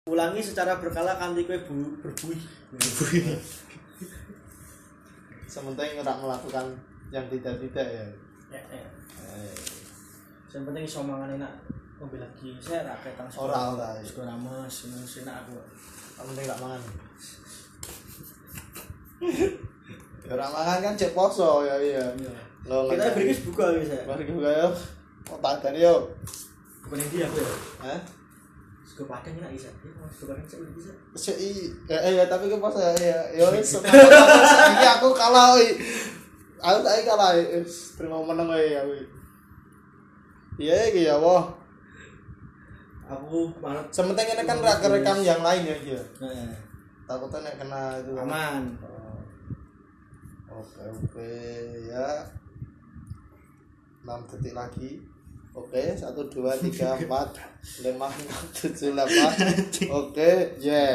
Ulangi secara berkala kanthi kowe berbuih. Sementing ora melakukan yang tidak-tidak ya. Yang penting iso mangan enak. Ngombe lagi saya ra ketang Ora. Sego rames, enak aku. Yang penting gak mangan. Ya ora mangan kan cek poso ya iya. Kita berikis buka wis ya. Mari buka yo. Oh tak gani yo. Bukan dia aku ya. Hah? Sego padang enak bisa. Sego padang bisa. Ya tapi ke poso ya. Yo wis iki aku kalah oi. Aku tak kalah terima meneng oi aku. Iya iki ya wah. Aku malah sementing ini kan rekam yang lain ya iki. Heeh. Takutnya nek kena itu aman. Oke ya 6 detik lagi. Oke 1 2 3 4 5 6 7 8. Oke, yeah.